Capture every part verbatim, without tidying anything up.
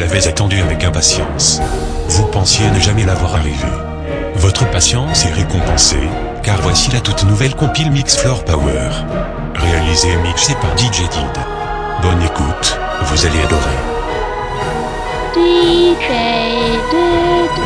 l'avez attendu avec impatience. Vous pensiez ne jamais l'avoir arrivé. Votre patience est récompensée, car voici la toute nouvelle compile Mix Floor Power. Réalisée et mixée par D J Did. Bonne écoute, vous allez adorer. D J Did.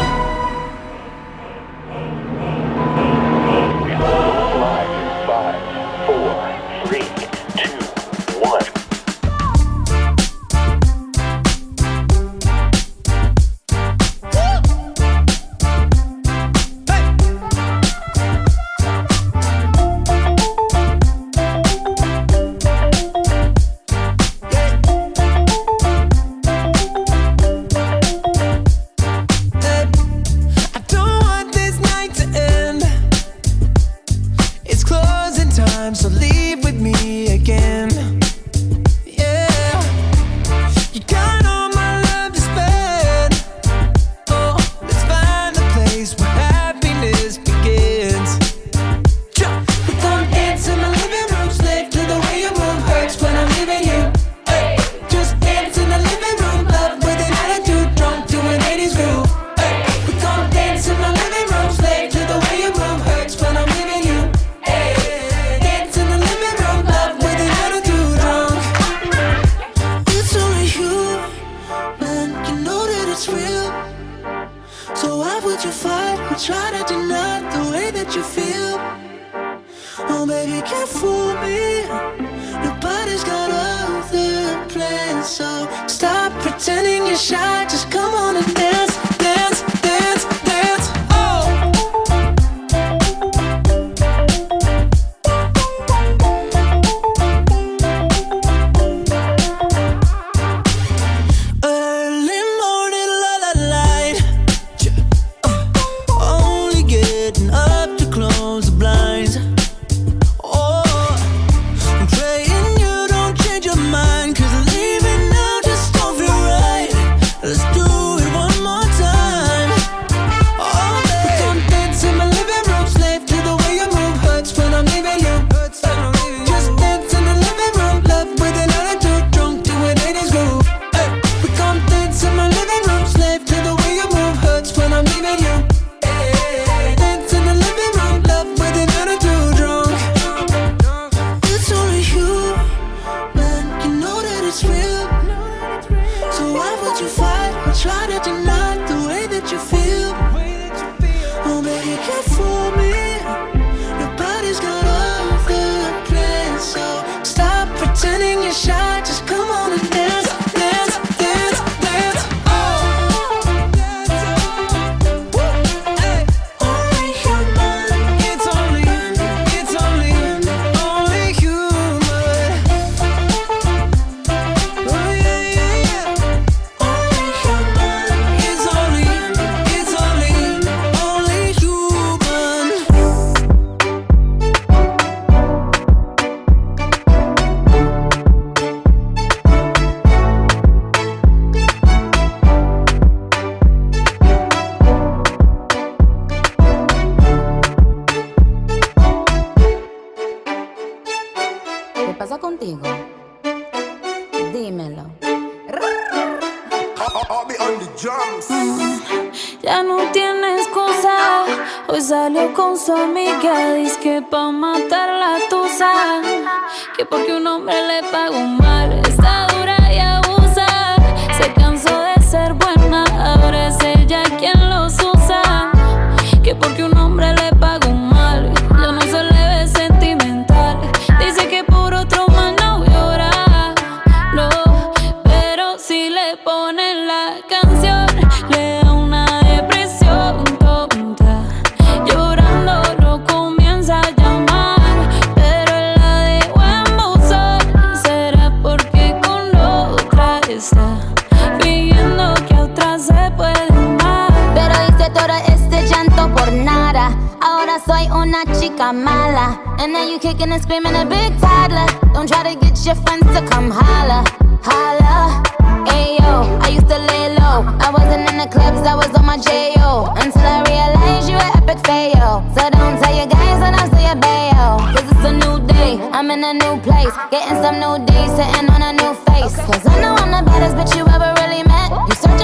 I'm in a new place, getting some new days, sitting on a new face. Cause I know I'm the baddest bitch you ever really met. You search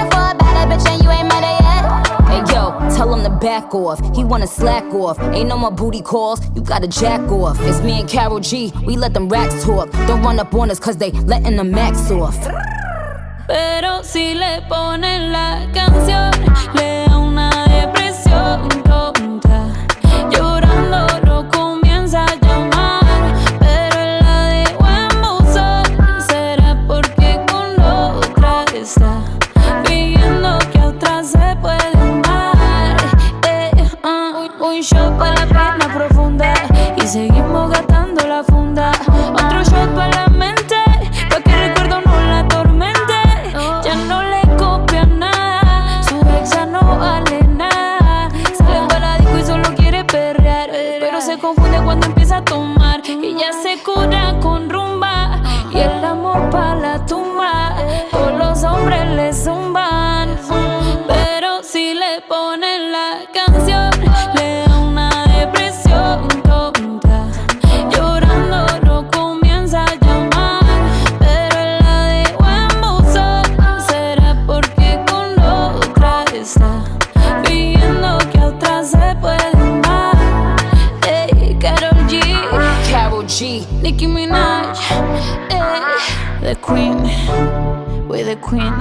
tell him to back off. He wanna slack off. Ain't no more booty calls, you gotta jack off. It's me and Karol G, we let them racks talk. Don't run up on us cause they letting the max off. Pero si le ponen la canción, le da una depresión tonta. Llorando lo comienza a llamar, pero él la dejó en buzón. Será porque con otra está viendo que a otra se puede amar. Eh, uh, un shot para la pena profunda y seguimos gastando la funda. Otro shot para la mente, pa' que el recuerdo no la atormente. Ya no le copia nada, su ex ya no vale nada. Sale para la disco y solo quiere perrear, pero se confunde cuando empieza a tomar. Y ya se cura con rumba y el amor pa' la tumba. Todos los hombres le zumban, pero si le ponen la canción, le da una depresión tonta. Llorando lo comienza a llamar, pero él la dejó en buzón. Será porque con otra está viendo que a otra se puede amar. Hey, Karol G, Karol G, Nicki Minaj, hey, the queen, we're the queen.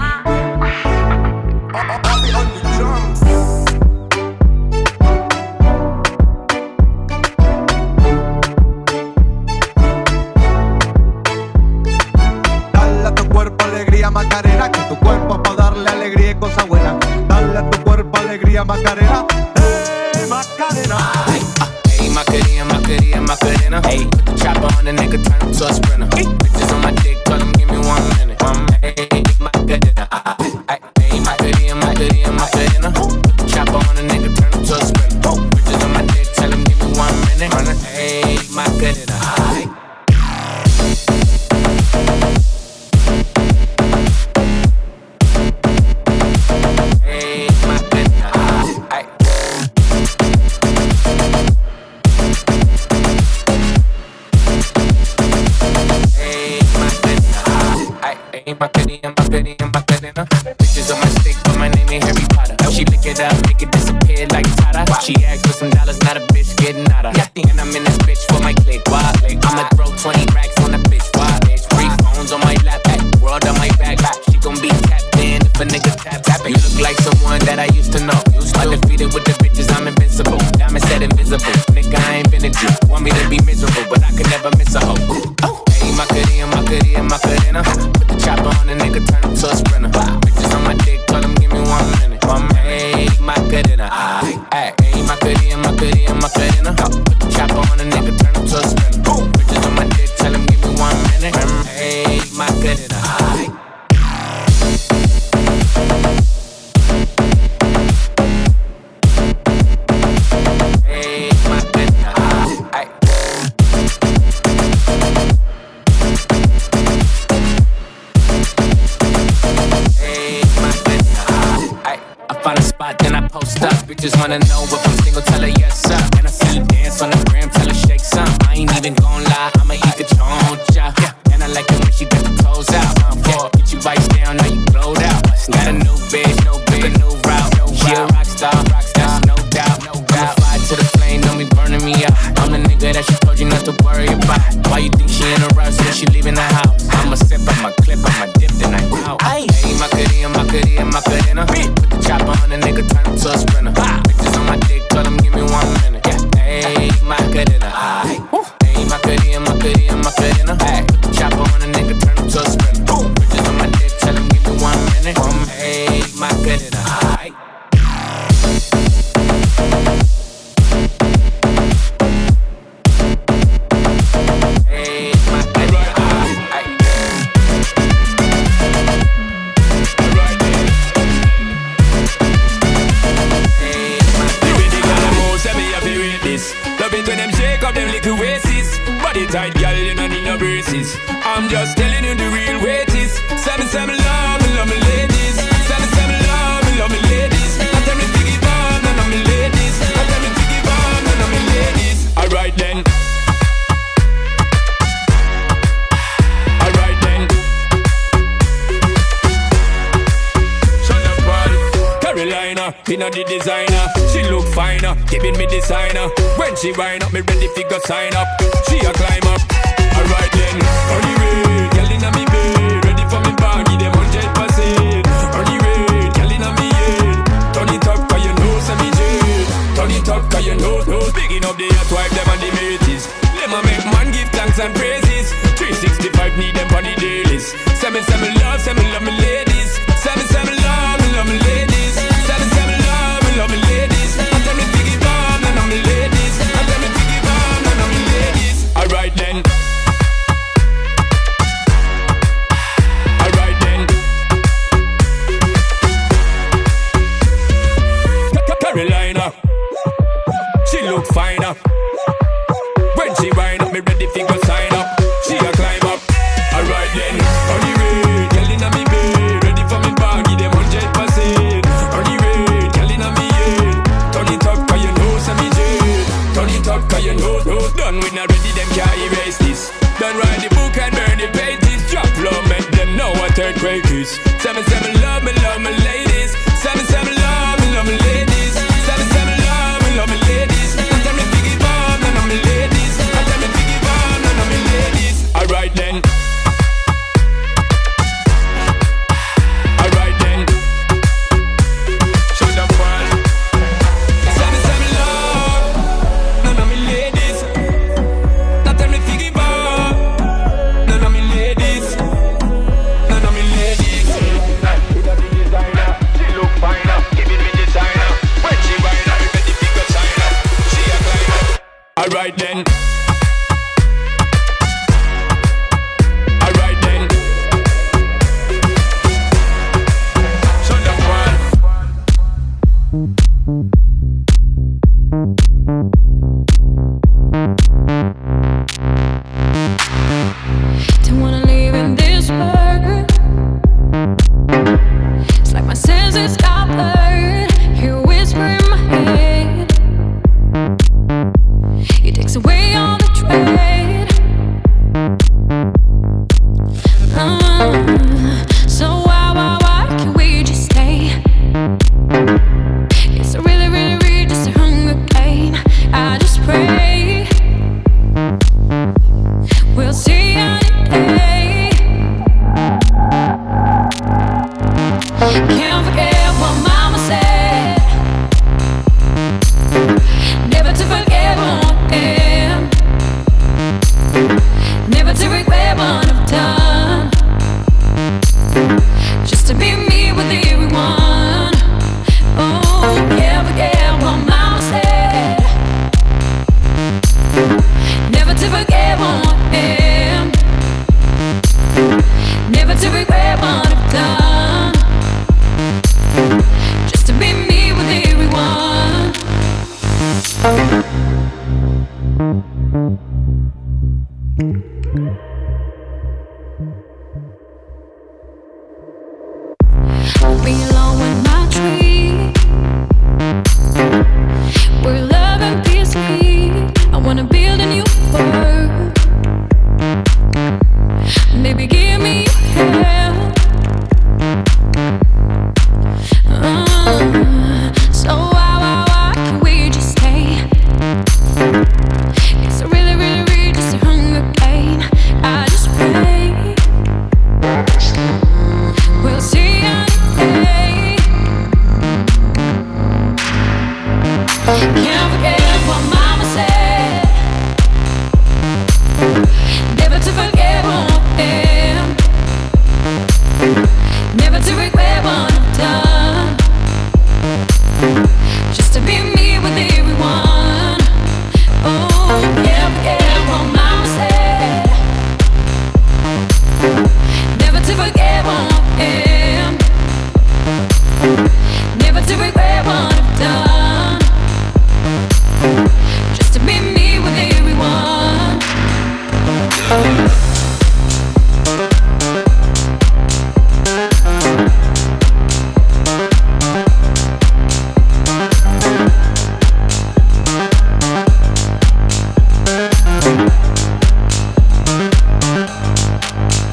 Dale a tu cuerpo alegría Macarena, que tu cuerpo es pa' darle alegría y cosas buenas. Dale a tu cuerpo alegría Macarena, hey Macarena. Hey, Macarena, Macarena, Macarena. Hey, put the chopper on the nigga, turn him to a sprinter. Hey, bitches on my dick, tell him give me one minute. One minute. Hey, Macarena. Hey, Macarena, Macarena, Macarena. Put the chopper on the nigga, turn him to a sprinter. Bitches on my dick, tell him give me one minute. Hey, Macarena. Macarena, Macarena, Macarena. Bitches on my stick, but my name ain't Harry Potter. She lick it up, make it disappear like Tata. She asked for some dollars, not a bitch getting out of. And I'm in this bitch for my click, why? I'ma throw twenty racks on the bitch, why? Three phones on my lap, world on my back. She gon' be tapped in if a nigga tap tap. You look like someone that I used to know. Undefeated with the bitches, I'm invincible. Diamond said invisible. Nigga, I ain't been a G. Want me to be miserable, but I could never miss a hoe. Oh. Hey, Macarena, Macarena, Macarena. Put the chopper on the nigga, turn him to a sprinter. Bitches on my dick, tell him give me one minute. One minute. Hey, Macarena. Hey, hey, Macarena, Macarena, Macarena. Put the chopper on the nigga, turn him to a sprinter. Bitches on my dick, tell him give me one minute. Hey, Macarena. Then I post up, bitches wanna know if I'm single, tell her yes sir. And I see you dance on the gram, tell her shake some. I ain't even gon' lie, I'ma eat the choncha. Yeah. And I like it when she got the toes out. Yeah. Get you bites down, now you glowed out. Got a new bitch, no bitch, a new route. No she a rock star, rock star, no doubt. No doubt. I'ma fly to the plane, don't be burning me out. I'm the nigga that she told you not to worry about. Why you think she in a rush when she leaving the house? I'ma sip, I'ma clip, I'ma dip, then I out. Hey, Macarena, Macarena, Macarena. Put the chopper on the nigga, turn him to a sprinter. Bitches on my dick, tell him give me one minute. Hey, Macarena. Hey, Macarena, Macarena, Macarena. Put the chopper on the nigga, turn him to a sprinter. Bitches on my dick, tell him give me one minute. Hey, Macarena. Tight girl, you don't need no braces. I'm just telling you the real way it is. Seven, seven, love me, love me ladies. Seven, seven, love me, love me ladies. I tell me to give on, and I'm me ladies. I tell me to give on, and I'm me ladies. Alright then. Alright then. Shut up, party. Carry Carolina, inna the designer. She look finer, giving me designer. When she wind up, me ready fi go sign up. She a climb up. Alright then, on the way, girl inna me bed, ready for me body, them hundred percent. On the way, girl inna me head, turn it up 'cause you know say me jet. Turn it up 'cause you know, know. Picking up the hot wife, them and the mateys. Them a make man give thanks and praises. three sixty-five need them on the dailies. Say me, say me love, say me love me ladies. Say me, say me love, me love me ladies. Say me, say me love, me love me ladies. I tell me to give on, none of me ladies. I tell me to give on, none of me ladies. Alright then. Alright then. Carolina, she look finer. When she wind up, me ready fi go sign up. She a climb up. Alright then, on the way, girl inna me bed, ready for me body, them hundred percent. On the way, girl inna me head, turn it up 'cause you know say me jet. Turn it up 'cause you know, know. Done with already, them can't erase this. Done write the book and burn the pages. Drop low, make them know what earthquake is. Say me, say me love me, love me ladies. Say me, say me love me, love me ladies. Say me, say me love me, love me ladies. I tell me to give on, none of me ladies. I tell me to give on, none of me ladies. Alright then. Alright then. Show them one. Say me, say me love none of me ladies. Now tell me to give on, none of me ladies. None of me ladies. With a big designer, she look finer, giving me designer. When she wind up, ready to go sign up. She a climb up. Alright then. Alright then. Show them one. Don't wanna live in this world. It's like my senses got blurred. Hear a whisper in my head. It takes away all the dread. Uh, so why, why, why can't we just stay? It's a really, really, really just a hunger game. I just pray we'll see any day. Can't forget what mama said. Never to forget what I am. Never to regret what I've done. Just to be me with everyone. Oh, can't forget what mama said. Never to forget what I am. Never to regret what I've done. Just to be me with everyone. I'll be alone with my tree. Where love and peace meet. I wanna build a new world. Baby, give me your help. Uh, so why, why, why can't we just stay? It's a really, really, really just a hunger game. I just pray we'll see any day. Can't forget what mama said. Never to forget what I am. Never to regret what I've done. Just to be me with everyone. Oh, can't forget what mama said. Never to forget what I am. Never to regret what I've done. Just to be me with everyone.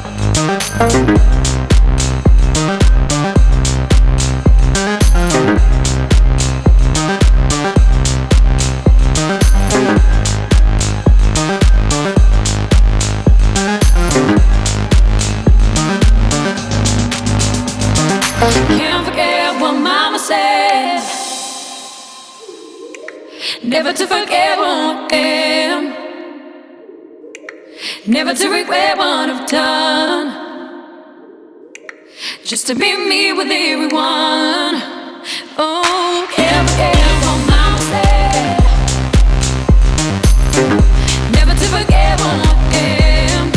Thank you. to forget what I am, never to regret what I've done, just to be me with everyone. Oh, can't forget all my mistakes, never to forget what I am,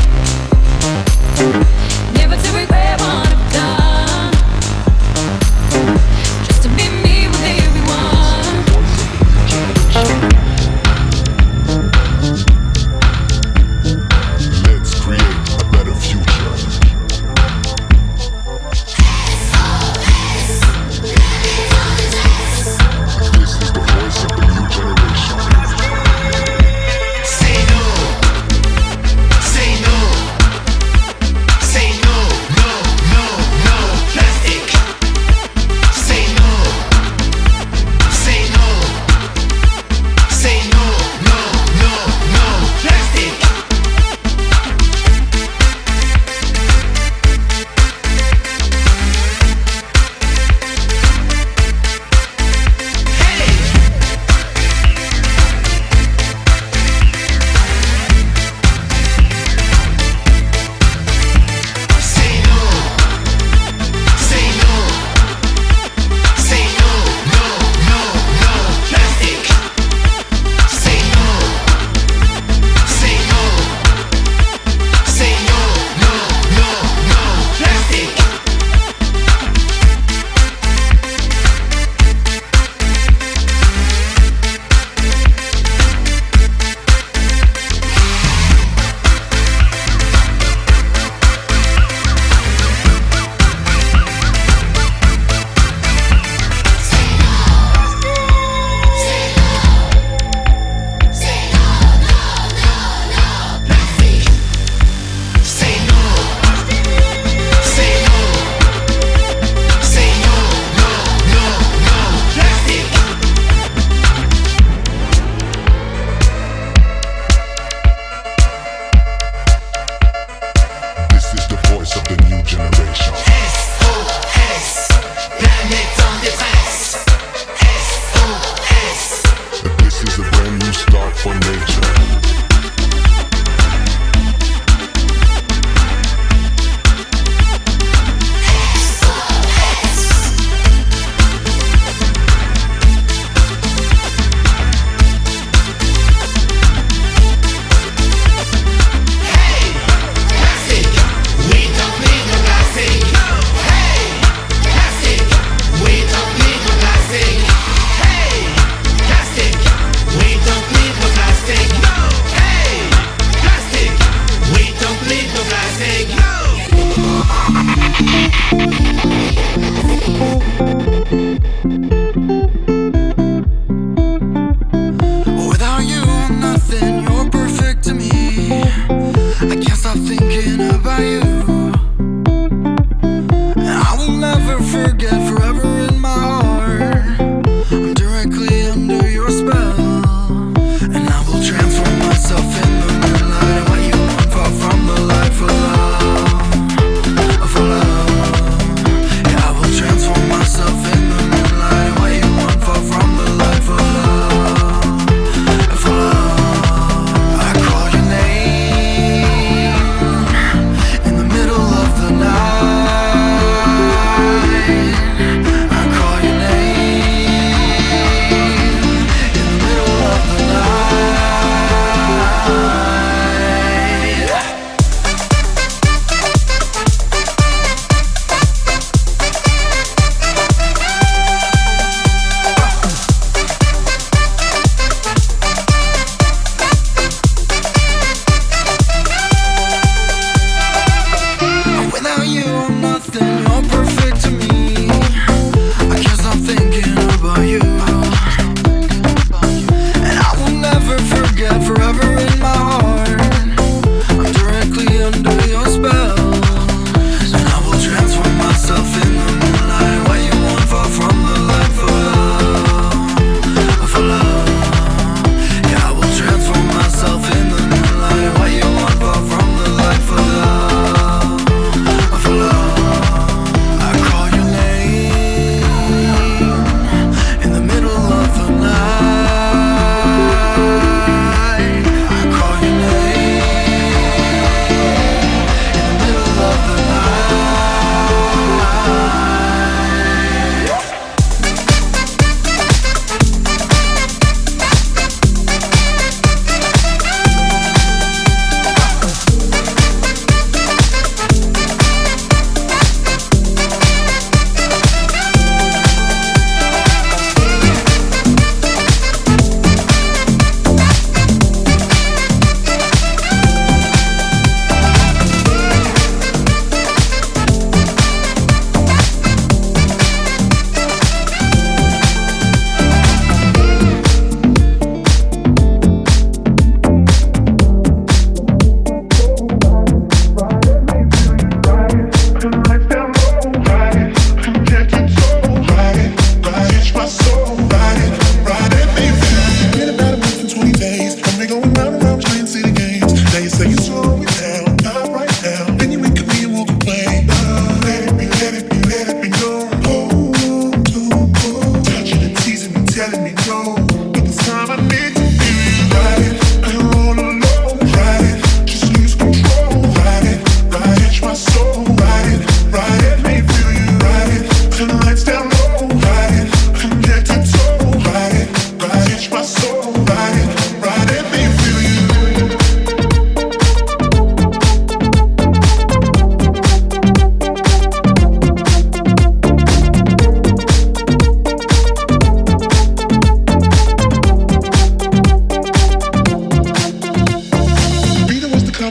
never to regret what I've done, just to be me with everyone. Let's create a better future. This is the voice of the new generation. Say no. Say no. Say no. No, no, no. Plastic. Say no. Say no. Say no. No, no, no. Plastic. Say no. Say no. Say no. No, no, no. Plastic. Say no. Say no. Say no. No, no, no. Plastic. Say no. Say no. Say no. No, no, no. Plastic. This is the voice of the new generation. S O S. Planète en détresse. S O S. This is a brand new start for nature. Plastic. We don't need no plastic. Hey, plastic. We don't need no plastic. Hey, plastic. We don't need no plastic. Hey, plastic. We don't need no plastic. Without you, I'm nothing. You're perfect to me. I can't stop thinking about you. And I will never forget, forever in my heart. I'm directly under your spell. And I will transform myself in the moonlight. And what you want far from the light for love. For love. Yeah, I will transform myself in the moonlight. And what you want far from the light for love. For love. I call your name in the middle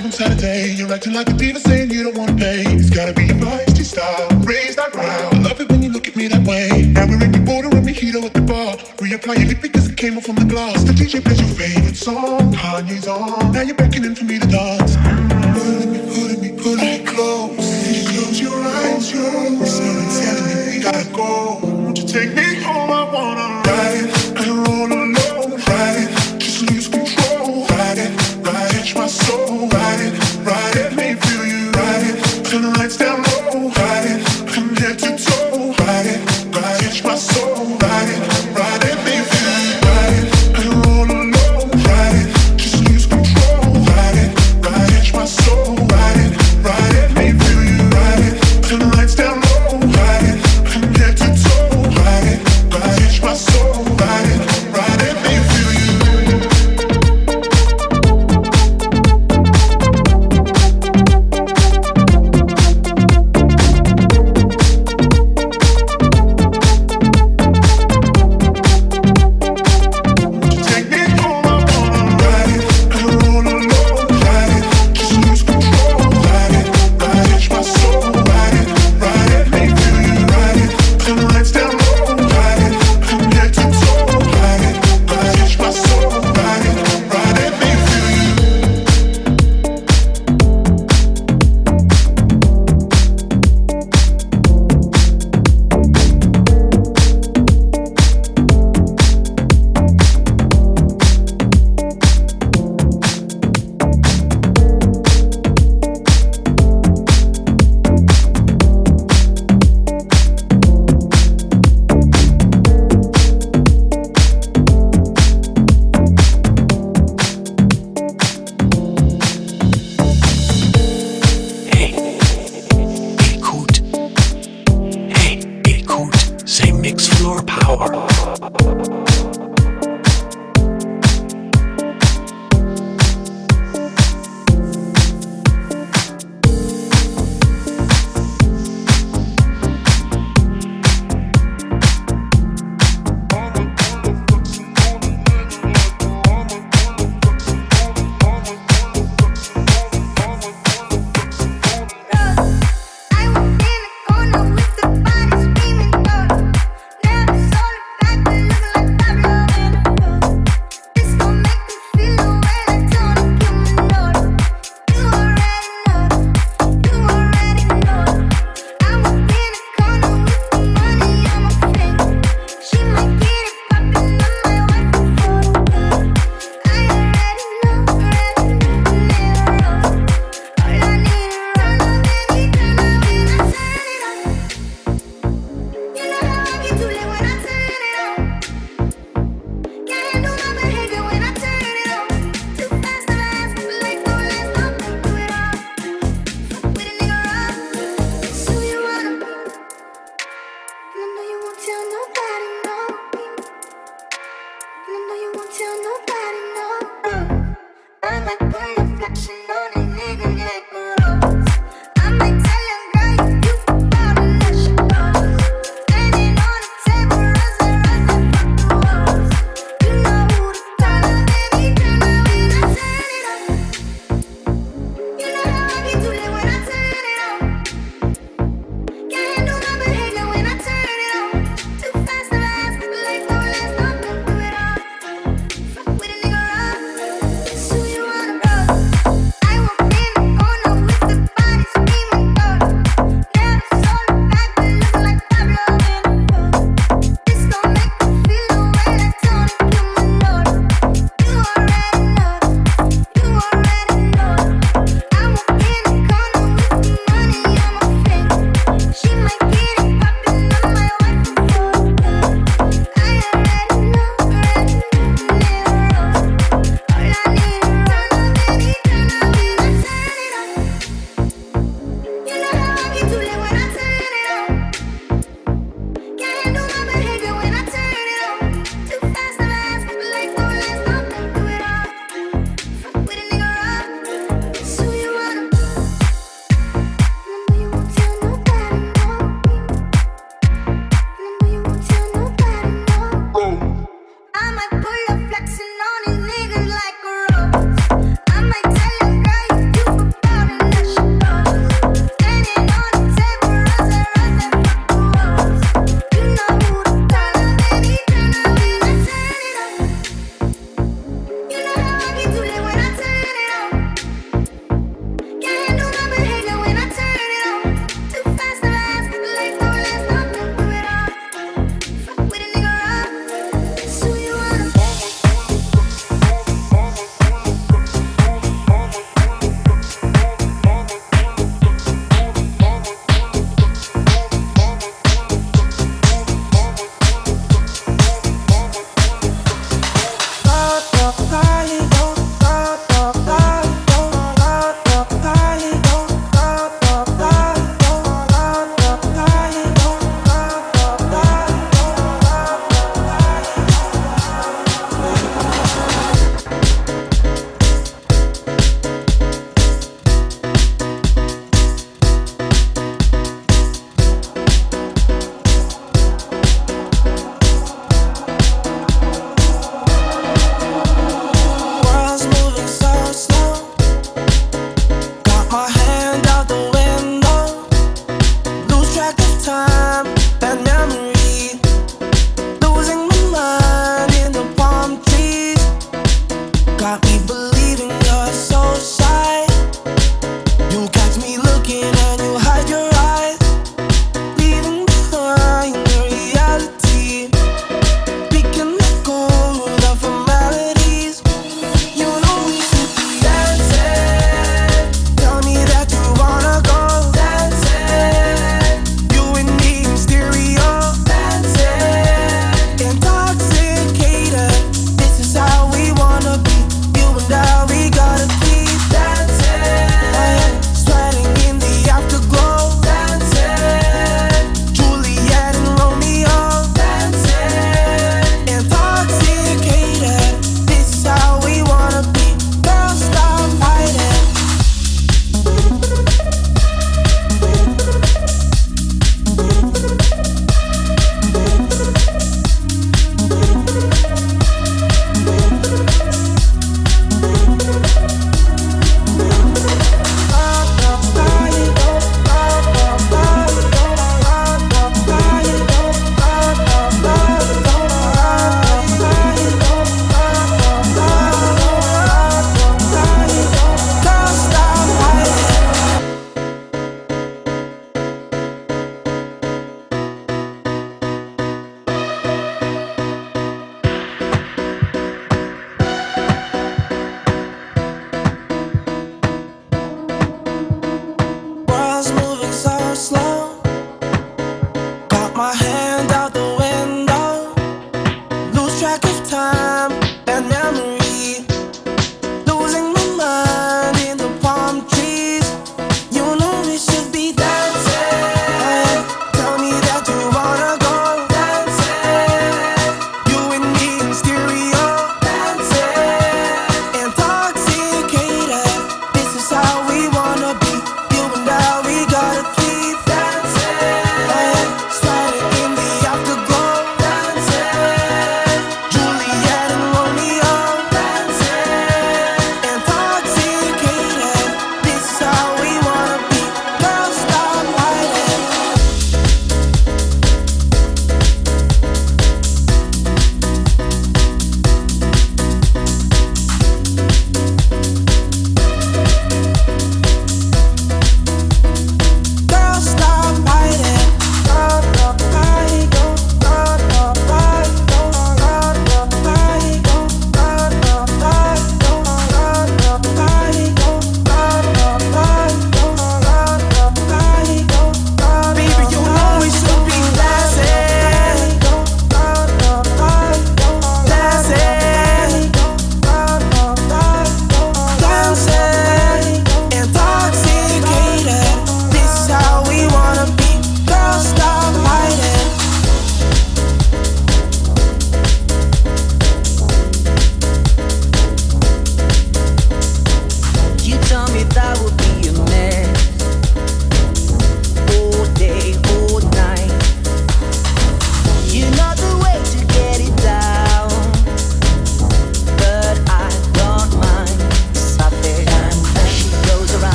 up on Saturday. You're acting like a diva saying you don't wanna pay. It's gotta be your feisty style, raise that ground. I love it when you look at me that way. Now we're in the border and mojito at the bar. Reapply your lip because it came off from the glass. The D J plays your favorite song, Kanye's on. Now you're beckoning for me to dance. Pulling me, pulling me, pulling me close. You close your eyes, your eyes. Someone's telling me we gotta go. Won't you take me home? I wanna ride it and roll alone. Ride it, just lose control. Ride it, ride it, my soul. Ride it, ride it, let me feel you. Ride it, turn the lights down low. Ride it, from head to toe. Ride it, ride it, my soul. Ride it, ride it, let me feel you. Ride it and roll alone. Ride it, just lose control. Ride it, ride it, my soul.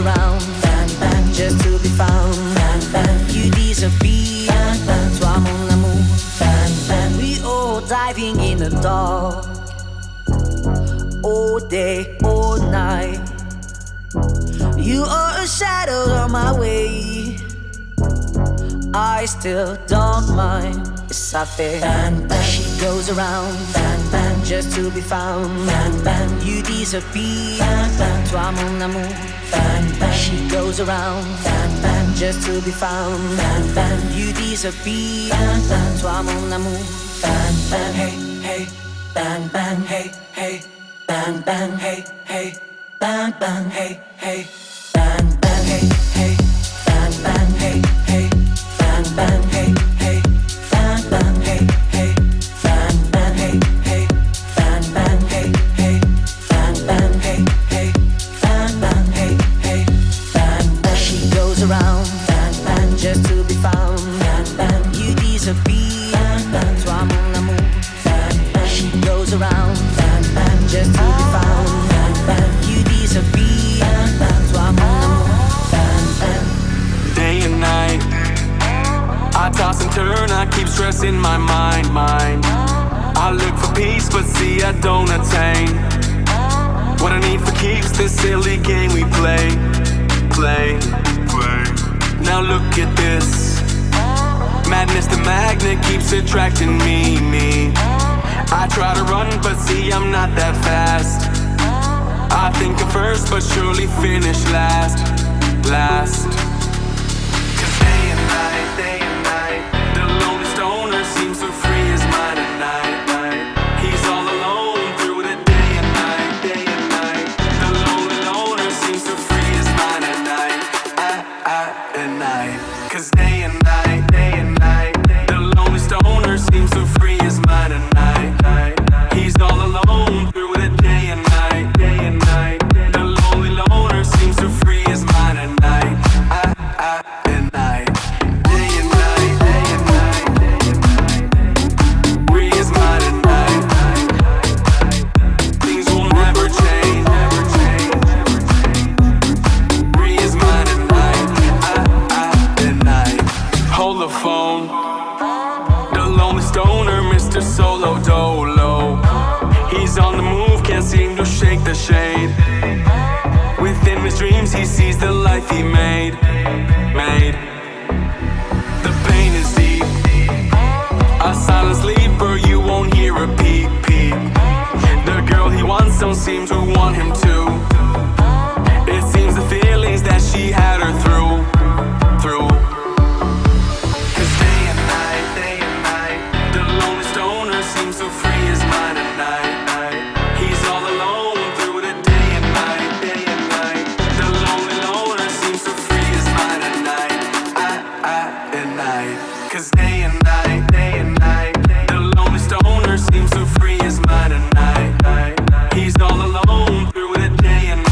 around, bang, bang, just to be found, bang, bang, you disappear, bang, bang, toi mon amour, bang, bang, we all diving in the dark, all day, all night, you are a shadow on my way, I still don't mind. Ça fait bang bang, she goes around, bang bang, just to be found, bang bang, you disappear, bang bang, toi mon amour, bang bang, she goes around, bang bang, just to be found, bang bang, you disappear, bang bang, toi mon amour, bang bang, hey hey, bang bang, hey hey, bang bang, hey hey, bang bang, hey hey, bang bang, hey hey, bang bang, hey hey, bang bang, hey hey. Bang bang hey hey, bang bang hey hey, bang bang hey hey, bang bang hey hey, bang bang hey hey, bang bang. She goes around, bang bang, just to be found, bang bang, you disappear, bang bang, toi mon amour, bang bang. She goes around, bang bang, just to be found, bang bang, you disappear, bang bang, toi mon amour, bang bang. Day and night, I toss and turn, I keep stressing my mind, mind. I look for peace, but see I don't attain. What I need for keeps this silly game we play, play, play. Now look at this. Madness, the magnet keeps attracting me, me. I try to run, but see I'm not that fast. I think I'm first, but surely finish last, last. Cause day and night, day and night, the lonely stoner seems so free his mind at night, night. He's all alone through the day and night, day and night. The lonely loner seems so free his mind at night, at, at, at night. Cause day and night, day and night, the lonely stoner seems so free his mind at night, night. He's all alone through the day and night, day and night. The lonely loner seems so free his mind at night, at, at, at night. Day and night, day and night, day and night. Free his mind at night, night, night. Things will never change, never change, never change. Free his mind at night, at, at, at night. Hold the phone. The lonely stoner, Mister Solo Dolo. He's on the move, can't seem to shake the shade. Within his dreams, he sees the life he made, made. The pain is deep. A silent sleeper, you won't hear a peep, peep. The girl he wants don't seem to want him to. It seems the feelings that she had her through, through. Cause day and night, day and night, the lonely stoner seems to free his mind at night, night. He's all alone through the day and night, day and night. The lonely loner seems to free his mind at night, at, at, at night. Cause day and night, day and night, the lonely stoner seems to free his mind at night, night. He's all alone through the day and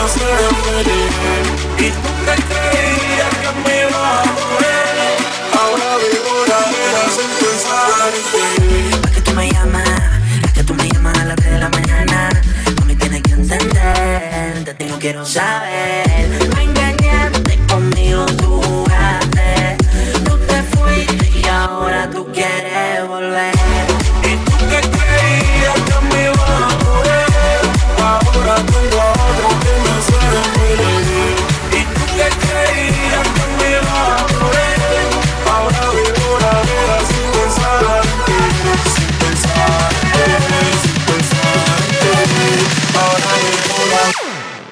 hacen feliz. Y tú te creías que me iba a morir. Ahora vivo la vida sin pensar en ti. ¿Para qué tú me llamas? Es que tú me llamas a las tres de la mañana. No me tienes que entender, de ti no quiero saber. Me engañaste conmigo, tú jugaste. Tú te fuiste y ahora tú quieres volver. Y tú te creías que me iba a morir. Ahora tengo a otro que me hace feliz. Y tú te creías que me iba a morir. Ahora vivo la vida sin pensar en ti. Sin pensar en ti, sin pensar en ti. Ahora vivo la vida.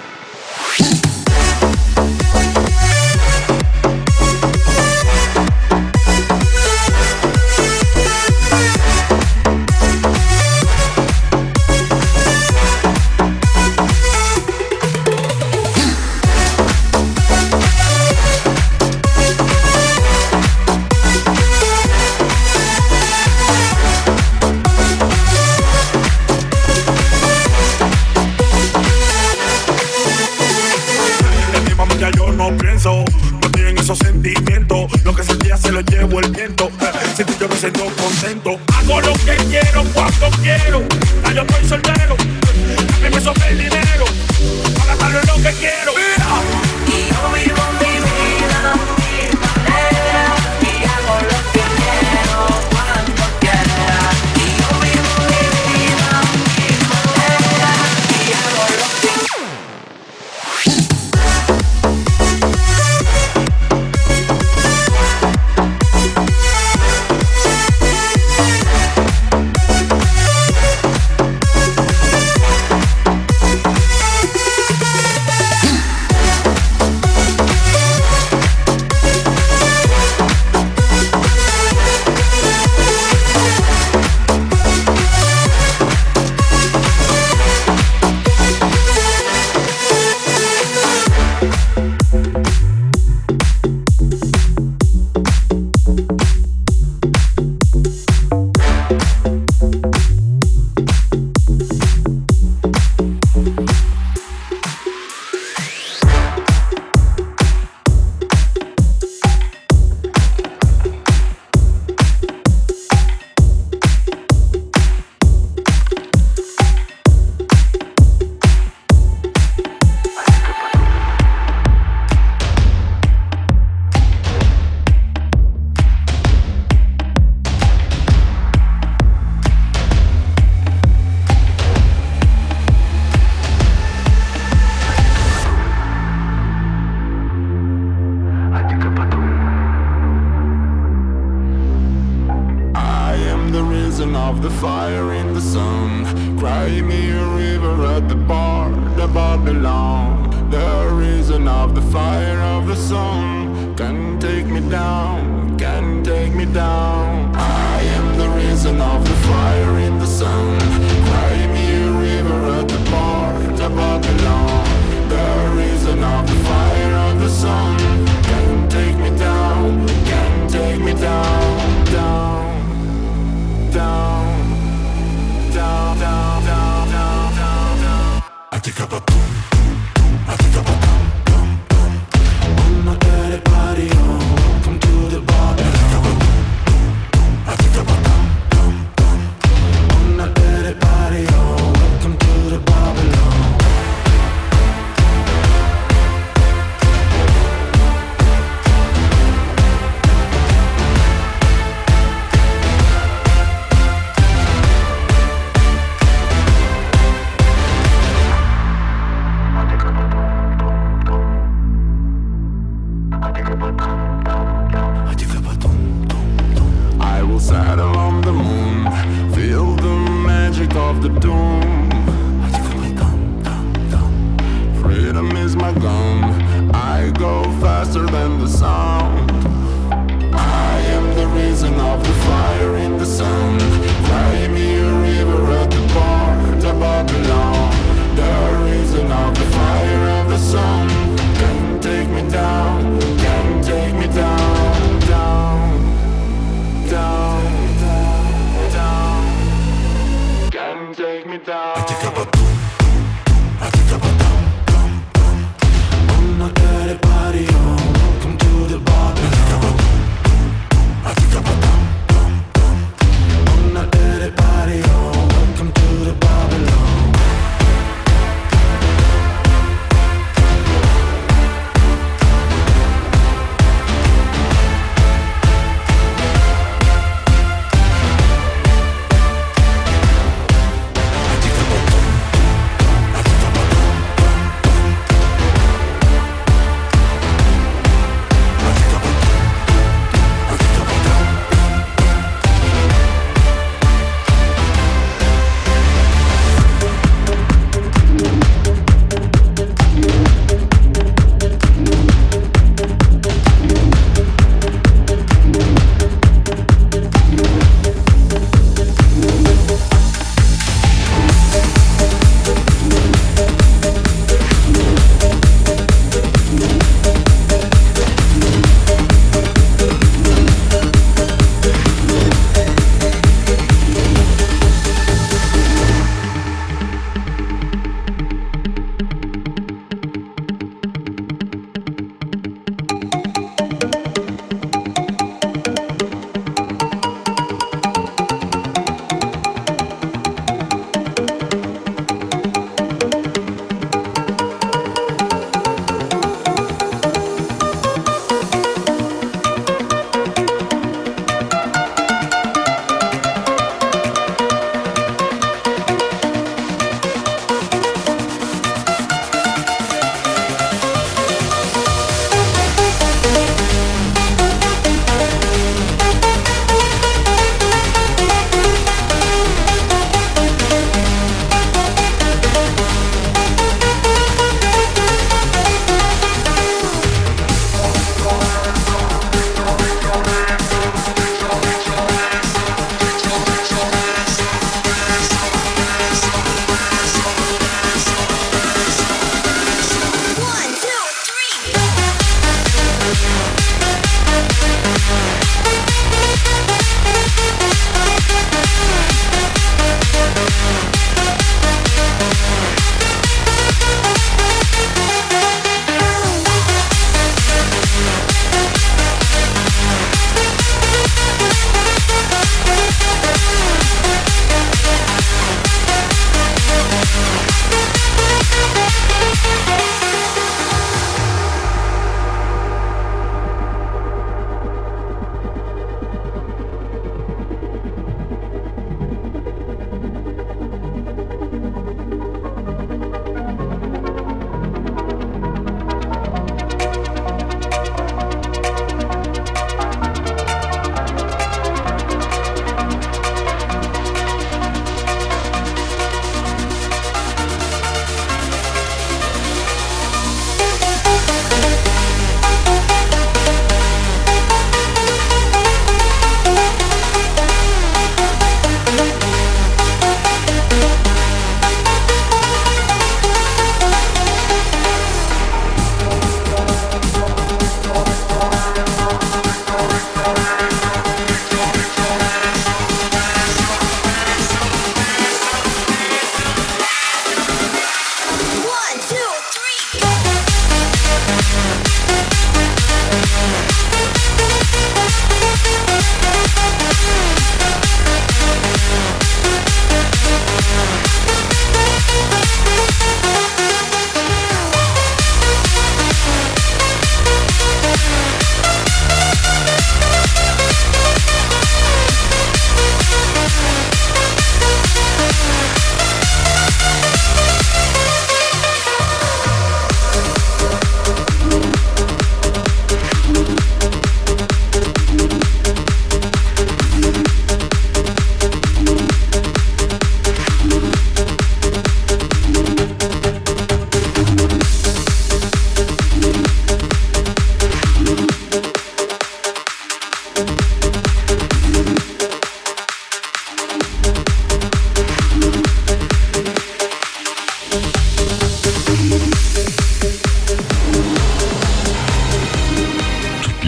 Esos sentimientos, lo que sentía se lo llevo el viento. Si tú yo me siento contento, hago lo que quiero cuando quiero. Ya yo estoy soltero, a mí me sobra el dinero para gastarlo en lo que quiero. Mira. Y yo vivo mi vida a mi manera y hago lo que quiero cuando quiera. Y yo vivo mi vida a mi manera y hago lo que quiero. Take me down. I take up a boom. I take up a boom, boom, boom.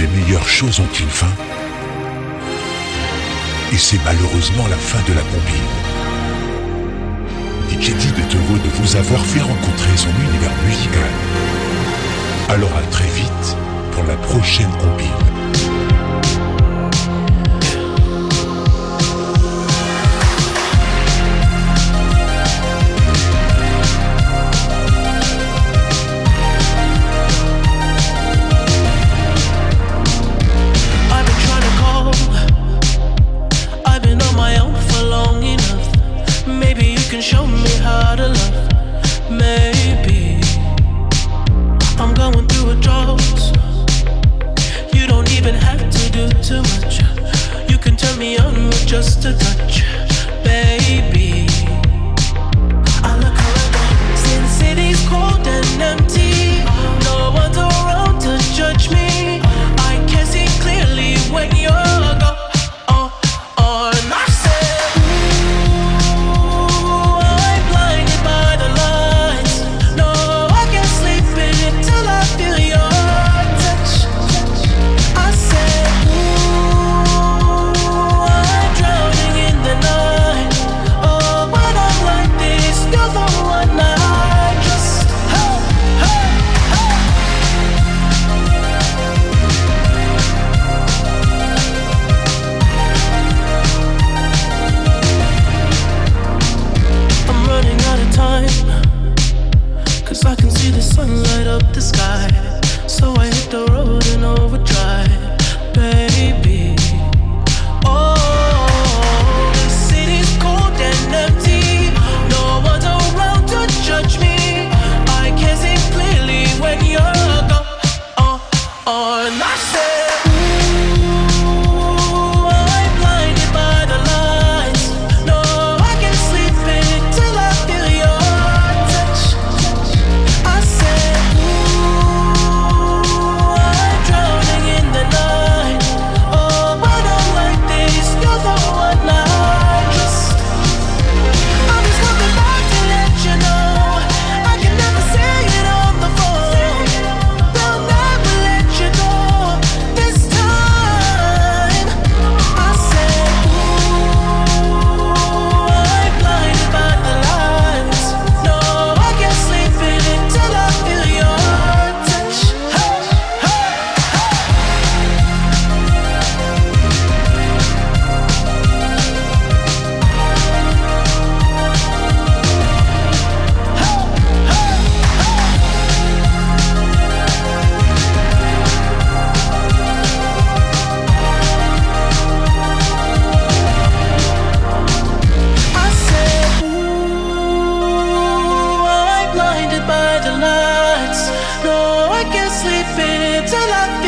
les meilleures choses ont une fin. Et c'est malheureusement la fin de la combine. D J Did est heureux de vous avoir fait rencontrer son univers musical. Alors à très vite pour la prochaine combine. Show me how to love. Maybe I'm going through a drought. You don't even have to do too much. You can turn me on with just a touch, baby. I look around, see the city's cold and empty. No one's around to judge me. I can see clearly when you're gone. Oh, oh, and I said. I can see the sun light up the sky, so I hit the road in overdrive, baby. Oh, the city's cold and empty. No one's around to judge me. I can see clearly when you're gone. Oh, oh, and I said. No, I can't sleep until I